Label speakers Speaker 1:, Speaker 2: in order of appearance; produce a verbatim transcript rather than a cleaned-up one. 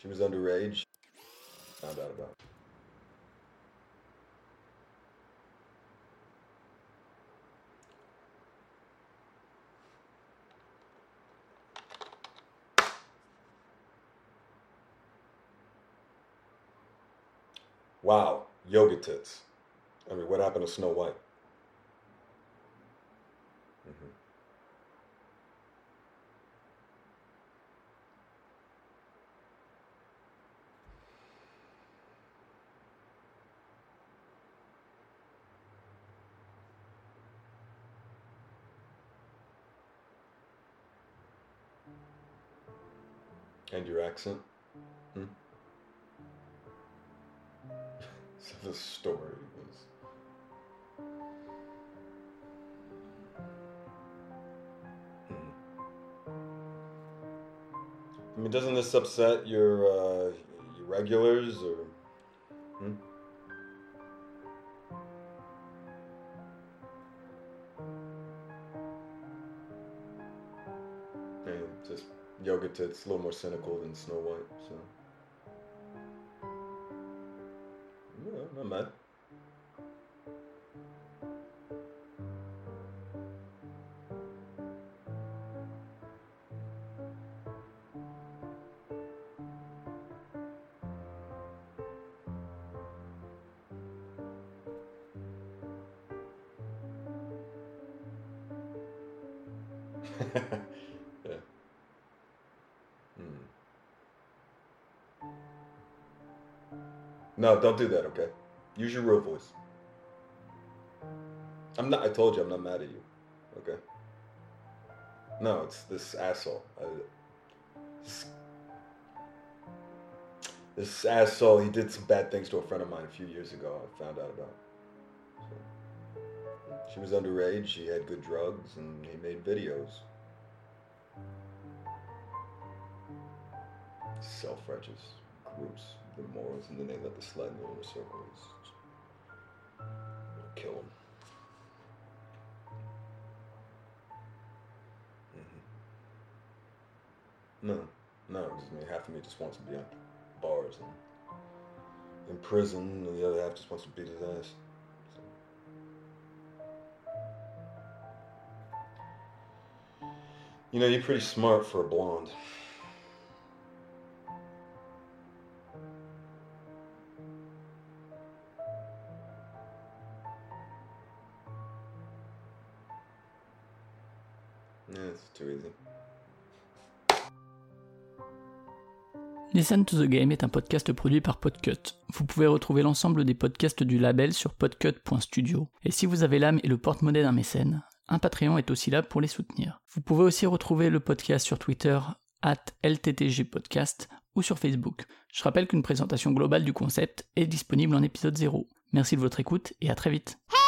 Speaker 1: She was underage. Found out about. Wow, yoga tits. I mean, what happened to Snow White? Mm-hmm. And your accent? Hmm? So the story was... Hmm. I mean, doesn't this upset your, uh, your regulars, or... Hmm? And just yoga tits, a little more cynical than Snow White, so... Yeah, not mad. Yeah. Hmm. No, don't do that, okay? Use your real voice. I'm not, I told you I'm not mad at you, okay? No, it's this asshole. I, this, this asshole, he did some bad things to a friend of mine a few years ago, I found out about. So, she was underage, she had good drugs, and he made videos. Self-righteous groups, the morals, and then they let the slide in the inner circles. Kill him. Mm-hmm. No, no, I mean, half of me just wants to be on bars and in prison, and the other half just wants to beat his ass. So. You know, you're pretty smart for a blonde. Yeah, it's too easy.
Speaker 2: Listen to the Game est un podcast produit par Podcut. Vous pouvez retrouver l'ensemble des podcasts du label sur podcut point studio. Et si vous avez l'âme et le porte-monnaie d'un mécène, un Patreon est aussi là pour les soutenir. Vous pouvez aussi retrouver le podcast sur Twitter arobase L T T G podcast ou sur Facebook. Je rappelle qu'une présentation globale du concept est disponible en épisode zéro. Merci de votre écoute et à très vite.